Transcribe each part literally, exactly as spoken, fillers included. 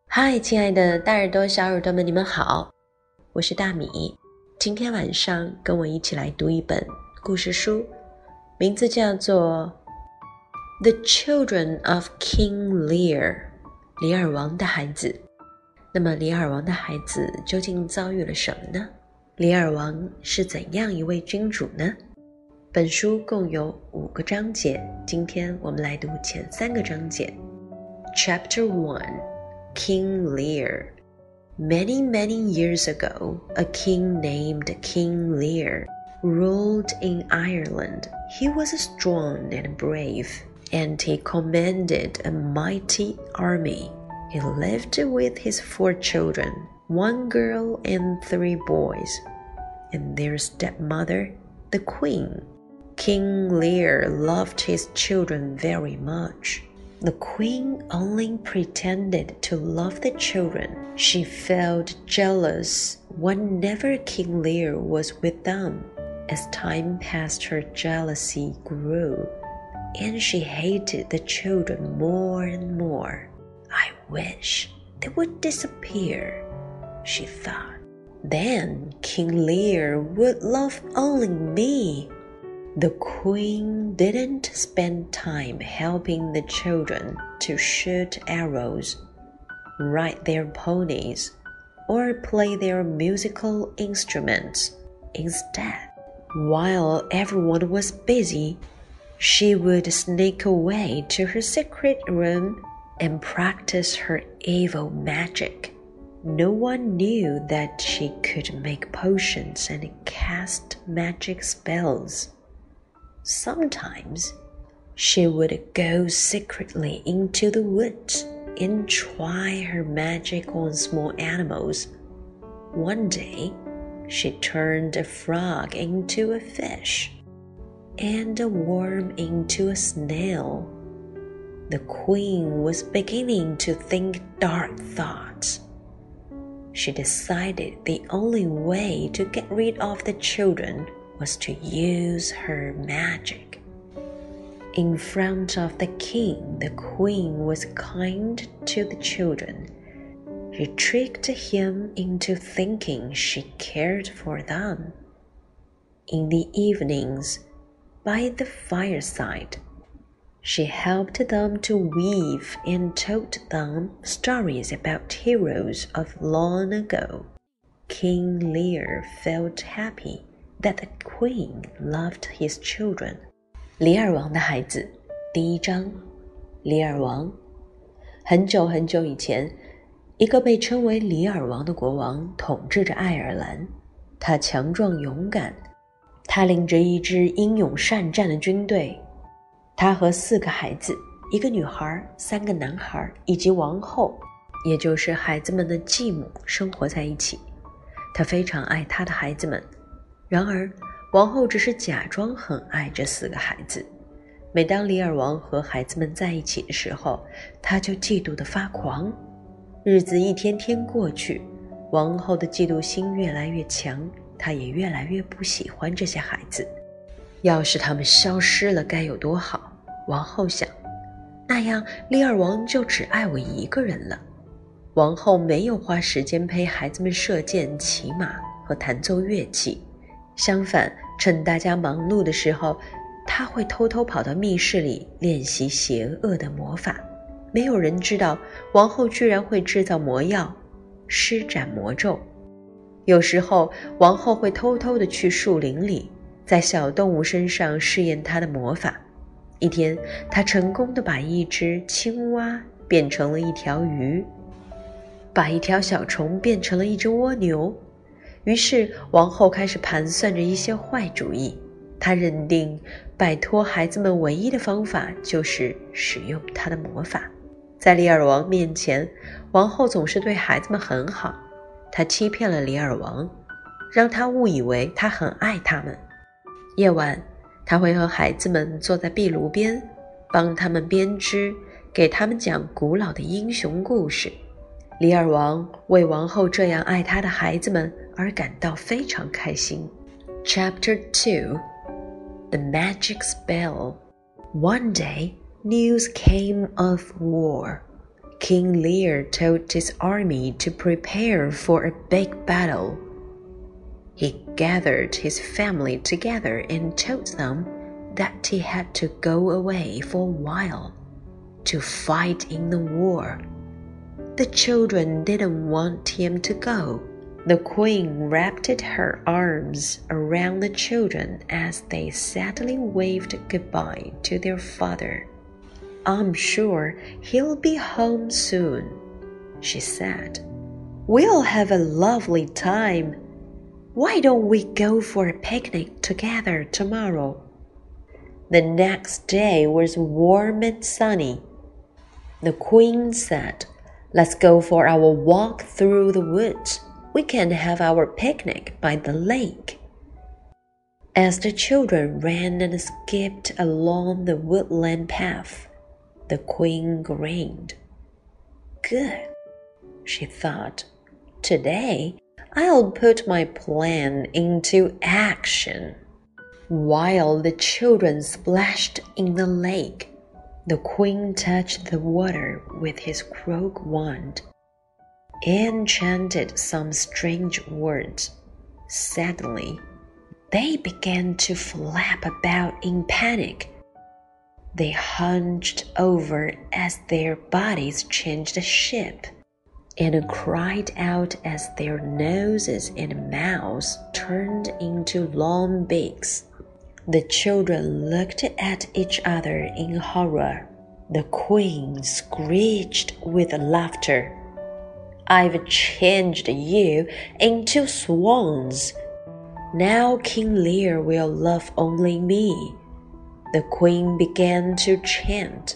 嗨，亲爱的大耳朵小耳朵们，你们好，我是大米。今天晚上跟我一起来读一本故事书，名字叫做 The Children of King Lear， 李尔王的孩子。那么李尔王的孩子究竟遭遇了什么呢？李尔王是怎样一位君主呢？本书共有五个章节，今天我们来读前三个章节。 Chapter one King Lear. Many, many years ago, a king named King Lear ruled in Ireland. He was strong and brave, and he commanded a mighty army. He lived with his four children, one girl and three boys, and their stepmother, the queen. King Lear loved his children very much.The queen only pretended to love the children. She felt jealous whenever King Lear was with them. As time passed, her jealousy grew, and she hated the children more and more. I wish they would disappear, she thought. Then King Lear would love only me.The queen didn't spend time helping the children to shoot arrows, ride their ponies, or play their musical instruments. Instead, while everyone was busy, she would sneak away to her secret room and practice her evil magic. No one knew that she could make potions and cast magic spells.Sometimes she would go secretly into the woods and try her magic on small animals. One day, she turned a frog into a fish and a worm into a snail. The queen was beginning to think dark thoughts. She decided the only way to get rid of the children.was to use her magic. In front of the king, the queen was kind to the children. She tricked him into thinking she cared for them. In the evenings, by the fireside, she helped them to weave and told them stories about heroes of long ago. King Lear felt happy.That the queen loved his children. 李尔王的孩子，第一章。李尔王。很久很久以前，一个被称为李尔王的国王统治着爱尔兰。他强壮勇敢，他领着一支英勇善战的军队。他和四个孩子，一个女孩，三个男孩，以及王后，也就是孩子们的继母生活在一起。他非常爱他的孩子们。然而王后只是假装很爱这四个孩子。每当李尔王和孩子们在一起的时候，他就嫉妒得发狂。日子一天天过去，王后的嫉妒心越来越强，她也越来越不喜欢这些孩子。要是他们消失了该有多好，王后想，那样李尔王就只爱我一个人了。王后没有花时间陪孩子们射箭、骑马和弹奏乐器，相反，趁大家忙碌的时候，他会偷偷跑到密室里练习邪恶的魔法。没有人知道王后居然会制造魔药，施展魔咒。有时候王后会偷偷地去树林里，在小动物身上试验她的魔法。一天，她成功地把一只青蛙变成了一条鱼，把一条小虫变成了一只蜗牛。于是王后开始盘算着一些坏主意。她认定摆脱孩子们唯一的方法就是使用她的魔法。在李尔王面前，王后总是对孩子们很好。她欺骗了李尔王，让他误以为她很爱他们。夜晚，她会和孩子们坐在壁炉边，帮他们编织，给他们讲古老的英雄故事。李尔王为王后这样爱他的孩子们而感到非常开心。Chapter two The Magic Spell. One day, news came of war. King Lear told his army to prepare for a big battle. He gathered his family together and told them that he had to go away for a while to fight in the war. The children didn't want him to go. The queen wrapped her arms around the children as they sadly waved goodbye to their father. "I'm sure he'll be home soon," she said. "We'll have a lovely time. Why don't we go for a picnic together tomorrow?" The next day was warm and sunny. The queen said, "Let's go for our walk through the woods. We can have our picnic by the lake." As the children ran and skipped along the woodland path, the queen grinned. "Good," she thought. "Today, I'll put my plan into action." While the children splashed in the lake, the queen touched the water with his crook wand and chanted some strange words. Suddenly, they began to flap about in panic. They hunched over as their bodies changed shape and cried out as their noses and mouths turned into long beaks. The children looked at each other in horror. The queen screeched with laughter. "I've changed you into swans. Now King Lear will love only me." The queen began to chant.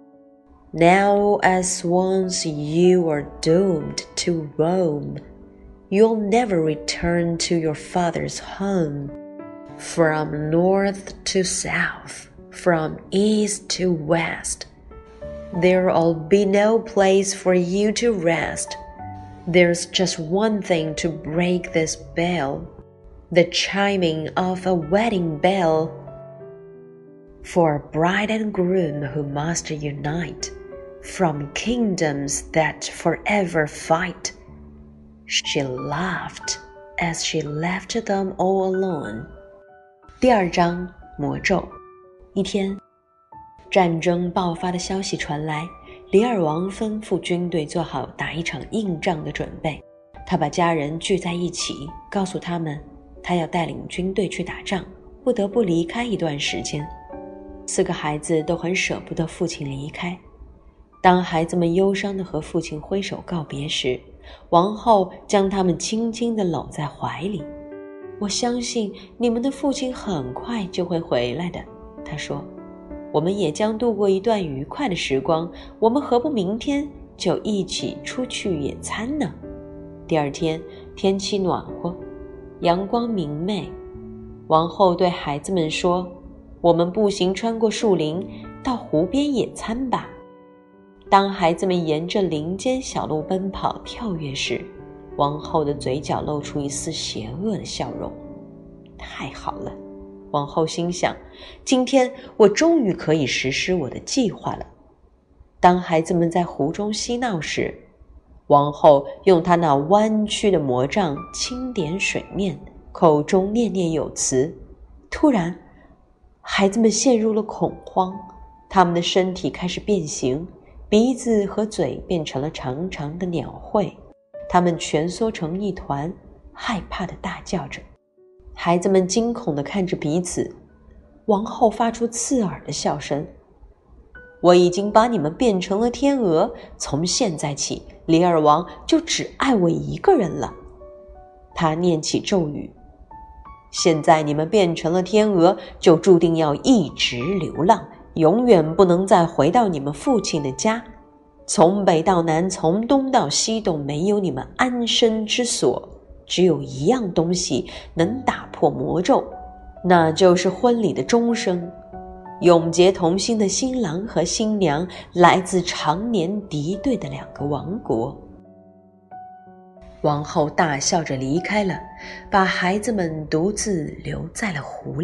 "Now as swans you are doomed to roam. You'll never return to your father's home. From north to south, from east to west, there'll be no place for you to rest. There's just one thing to break this bell, the chiming of a wedding bell, for a bride and groom who must unite from kingdoms that forever fight." She laughed as she left them all alone. 第二章魔咒。一天，战争爆发的消息传来，李尔王吩咐军队做好打一场硬仗的准备。他把家人聚在一起，告诉他们，他要带领军队去打仗，不得不离开一段时间。四个孩子都很舍不得父亲离开。当孩子们忧伤地和父亲挥手告别时，王后将他们轻轻地搂在怀里。我相信你们的父亲很快就会回来的，他说。我们也将度过一段愉快的时光，我们何不明天就一起出去野餐呢？第二天，天气暖和，阳光明媚。王后对孩子们说，我们步行穿过树林，到湖边野餐吧。当孩子们沿着林间小路奔跑跳跃时，王后的嘴角露出一丝邪恶的笑容。太好了，王后心想，今天我终于可以实施我的计划了。当孩子们在湖中嬉闹时，王后用她那弯曲的魔杖轻点水面，口中念念有词。突然，孩子们陷入了恐慌，他们的身体开始变形，鼻子和嘴变成了长长的鸟喙，他们蜷缩成一团，害怕地大叫着。孩子们惊恐地看着彼此，王后发出刺耳的笑声。我已经把你们变成了天鹅，从现在起，李尔王就只爱我一个人了。他念起咒语，现在你们变成了天鹅，就注定要一直流浪，永远不能再回到你们父亲的家。从北到南，从东到西，都没有你们安身之所。只有一样东西能打破魔咒，那就是婚礼的钟声。永结同心的新郎和新娘来自常年敌对的两个王国。王后大笑着离开了，把孩子们独自留在了湖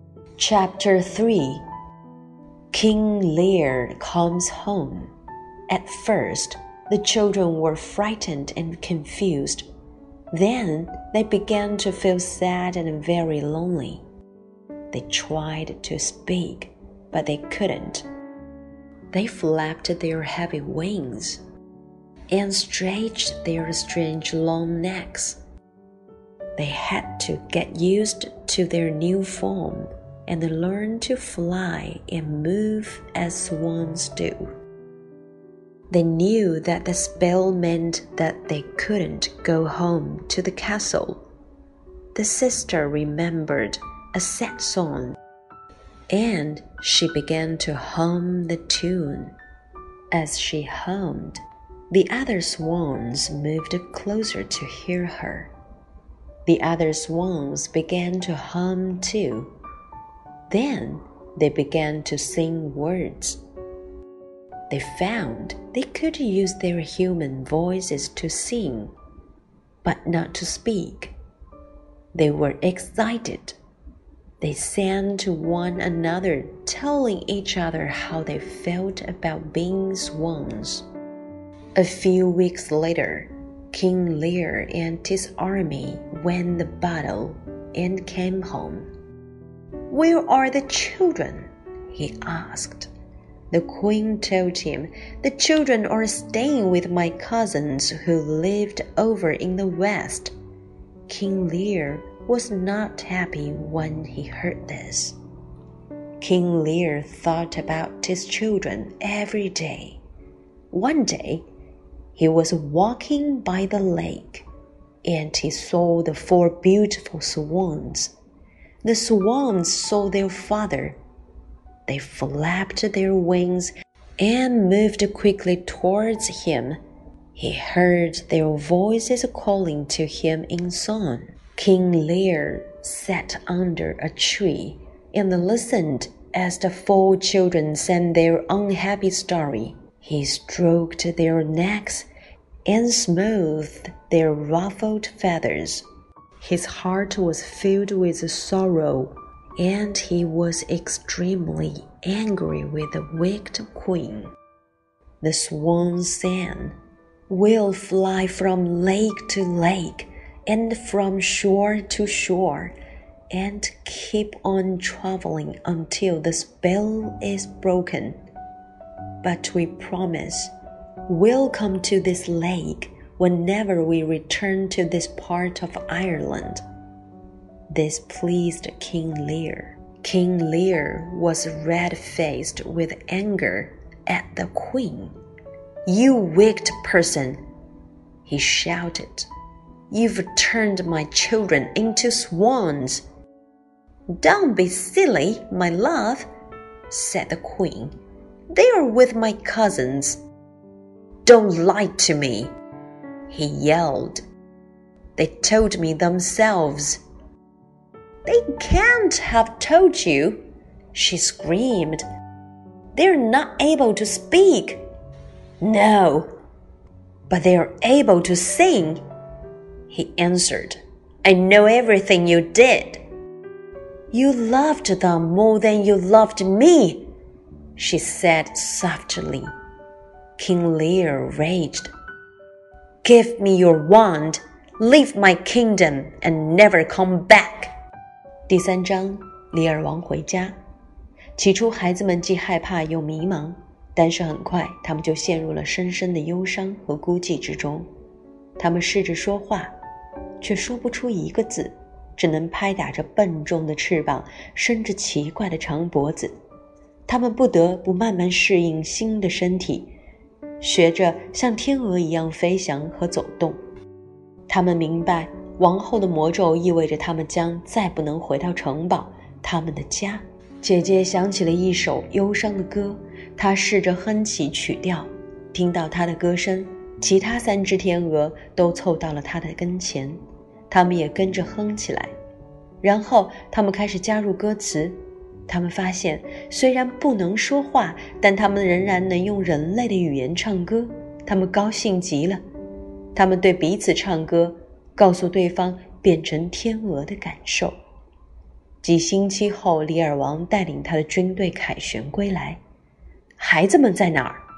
里。Chapter three King Lear comes home. At first, the children were frightened and confused. Then they began to feel sad and very lonely. They tried to speak, but they couldn't. They flapped their heavy wings and stretched their strange long necks. They had to get used to their new form and learn to fly and move as swans do. They knew that the spell meant that they couldn't go home to the castle. The sister remembered a sad song, and she began to hum the tune. As she hummed, the other swans moved closer to hear her. The other swans began to hum too. Then they began to sing words. They found they could use their human voices to sing, but not to speak. They were excited. They sang to one another, telling each other how they felt about being swans. A few weeks later, King Lear and his army won the battle and came home. "Where are the children?" he asked. The queen told him, "The children are staying with my cousins who lived over in the west." King Lear was not happy when he heard this. King Lear thought about his children every day. One day, he was walking by the lake, and he saw the four beautiful swans. The swans saw their father. They flapped their wings and moved quickly towards him. He heard their voices calling to him in song. King Lear sat under a tree and listened as the four children sang their unhappy story. He stroked their necks and smoothed their ruffled feathers. His heart was filled with sorrow, and he was extremely angry with the wicked queen. The swans sang, "We'll fly from lake to lake and from shore to shore, and keep on traveling until the spell is broken. But we promise we'll come to this lake whenever we return to this part of Ireland." This pleased King Lear. King Lear was red-faced with anger at the queen. "You wicked person," he shouted. "You've turned my children into swans." "Don't be silly, my love," said the queen. "They are with my cousins." "Don't lie to me," he yelled. "They told me themselves." "They can't have told you," she screamed. "They're not able to speak." "No, but they're able to sing," he answered. "I know everything you did." "You loved them more than you loved me," she said softly. King Lear raged. "Give me your wand, leave my kingdom, and never come back." 第三章，李尔王回家。起初，孩子们既害怕又迷茫，但是很快，他们就陷入了深深的忧伤和孤寂之中。他们试着说话，却说不出一个字，只能拍打着笨重的翅膀，伸着奇怪的长脖子。他们不得不慢慢适应新的身体，学着像天鹅一样飞翔和走动。他们明白，王后的魔咒意味着他们将再不能回到城堡，他们的家。姐姐想起了一首忧伤的歌，她试着哼起曲调。听到她的歌声，其他三只天鹅都凑到了她的跟前，他们也跟着哼起来。然后他们开始加入歌词。他们发现，虽然不能说话，但他们仍然能用人类的语言唱歌。他们高兴极了，他们对彼此唱歌，告诉对方变成天鹅的感受。几星期后，李尔王带领他的军队凯旋归来。孩子们在哪儿？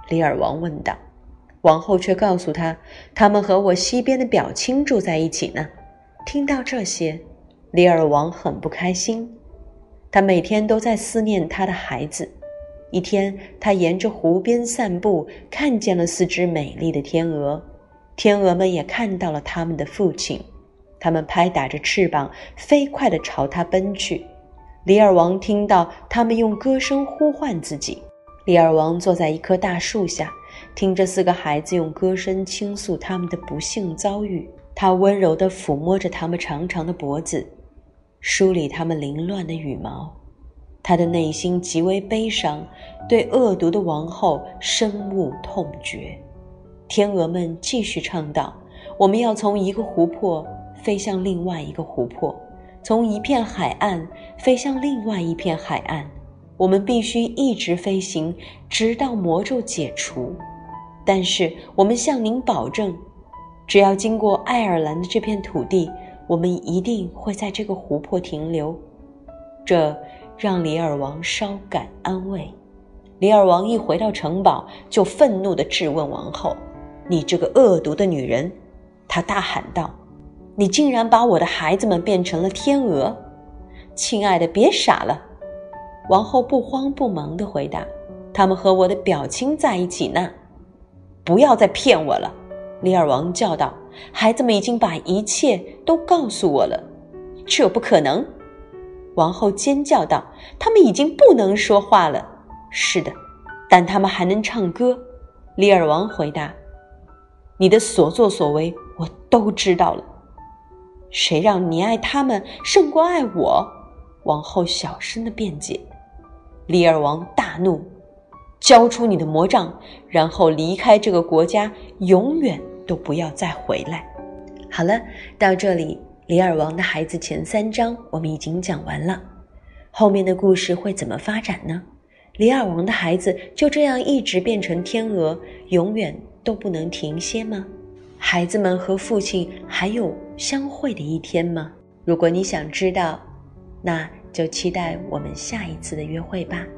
李尔王问道。王后却告诉他，他们和我西边的表亲住在一起呢。听到这些，李尔王很不开心，他每天都在思念他的孩子。一天，他沿着湖边散步，看见了四只美丽的天鹅。天鹅们也看到了他们的父亲，他们拍打着翅膀，飞快地朝他奔去。李尔王听到他们用歌声呼唤自己。李尔王坐在一棵大树下，听着四个孩子用歌声倾诉他们的不幸遭遇。他温柔地抚摸着他们长长的脖子，梳理他们凌乱的羽毛。他的内心极为悲伤，对恶毒的王后深恶痛绝。天鹅们继续唱道，我们要从一个湖泊飞向另外一个湖泊，从一片海岸飞向另外一片海岸，我们必须一直飞行，直到魔咒解除。但是我们向您保证，只要经过爱尔兰的这片土地，我们一定会在这个湖泊停留。这让李尔王稍感安慰。李尔王一回到城堡，就愤怒地质问王后，你这个恶毒的女人！他大喊道，你竟然把我的孩子们变成了天鹅！亲爱的，别傻了。王后不慌不忙地回答，他们和我的表亲在一起呢。不要再骗我了，李尔王叫道，孩子们已经把一切都告诉我了。这不可能！王后尖叫道，他们已经不能说话了。是的，但他们还能唱歌。李尔王回答，你的所作所为我都知道了。谁让你爱他们胜过爱我？王后小声地辩解。李尔王大怒，交出你的魔杖，然后离开这个国家，永远都不要再回来。好了，到这里李尔王的孩子前三章我们已经讲完了，后面的故事会怎么发展呢？李尔王的孩子就这样一直变成天鹅，永远都不能停歇吗？孩子们和父亲还有相会的一天吗？如果你想知道，那就期待我们下一次的约会吧。